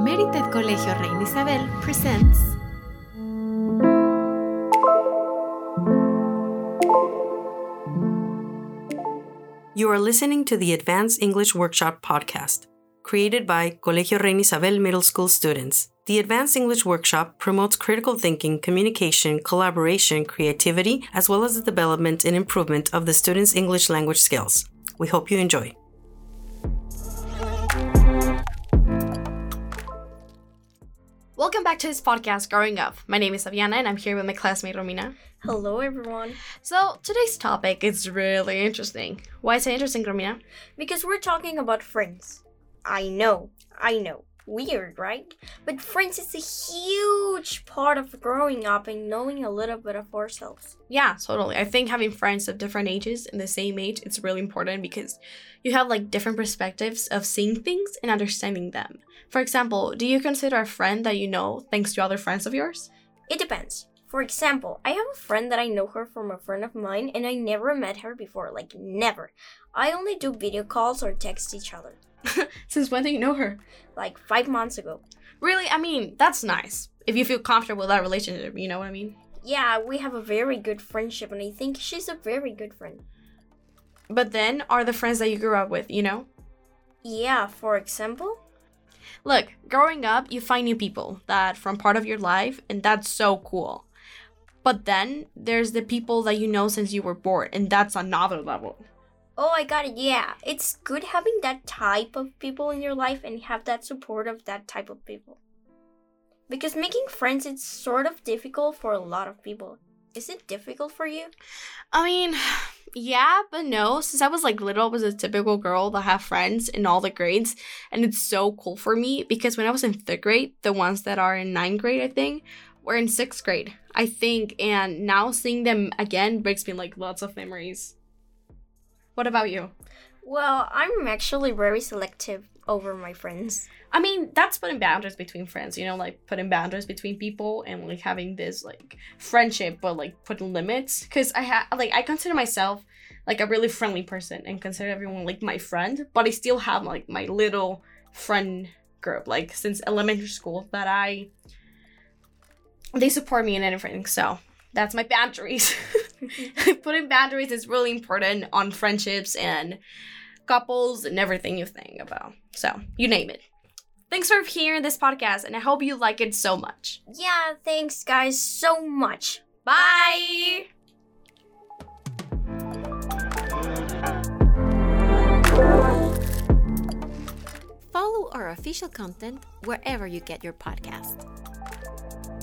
Merited Colegio Reina Isabel presents You are listening to the Advanced English Workshop podcast, created by Colegio Reina Isabel Middle School students. The Advanced English Workshop promotes critical thinking, communication, collaboration, creativity, as well as the development and improvement of the students' English language skills. We hope you enjoy. Welcome back to this podcast, Growing Up. My name is Aviana, and I'm here with my classmate, Romina. Hello, everyone. So, today's topic is really interesting. Why is it interesting, Romina? Because we're talking about friends. I know. Weird, right? But friends is a huge part of growing up and knowing a little bit of ourselves. Yeah, totally. I think having friends of different ages and the same age, it's really important because you have different perspectives of seeing things and understanding them. For example, do you consider a friend that you know thanks to other friends of yours? It depends. For example, I have a friend that I know her from a friend of mine and I never met her before, never. I only do video calls or text each other. Since when do you know her? 5 months ago. Really? I mean, that's nice. If you feel comfortable with that relationship, you know what I mean? Yeah, we have a very good friendship and I think she's a very good friend. But then, are the friends that you grew up with, you know? Yeah, for example? Look, growing up, you find new people that from part of your life, and that's so cool. But then, there's the people that you know since you were born, and that's another level. Oh, I got it, yeah. It's good having that type of people in your life and have that support of that type of people. Because making friends is sort of difficult for a lot of people. Is it difficult for you? I mean, yeah, but no. Since I was little, I was a typical girl that had friends in all the grades. And it's so cool for me because when I was in 3rd grade, the ones that are in 9th grade, I think, were in 6th grade, I think. And now seeing them again brings me lots of memories. What about you? Well, I'm actually very selective over my friends. I mean, that's putting boundaries between friends, putting boundaries between people and having this friendship, but putting limits. Because I consider myself a really friendly person and consider everyone my friend, but I still have my little friend group since elementary school that they support me in everything. So that's my boundaries. Putting boundaries is really important on friendships and couples and everything you think about. So, you name it. Thanks for hearing this podcast, and I hope you like it so much. Yeah, thanks, guys, so much. Bye! Follow our official content wherever you get your podcast.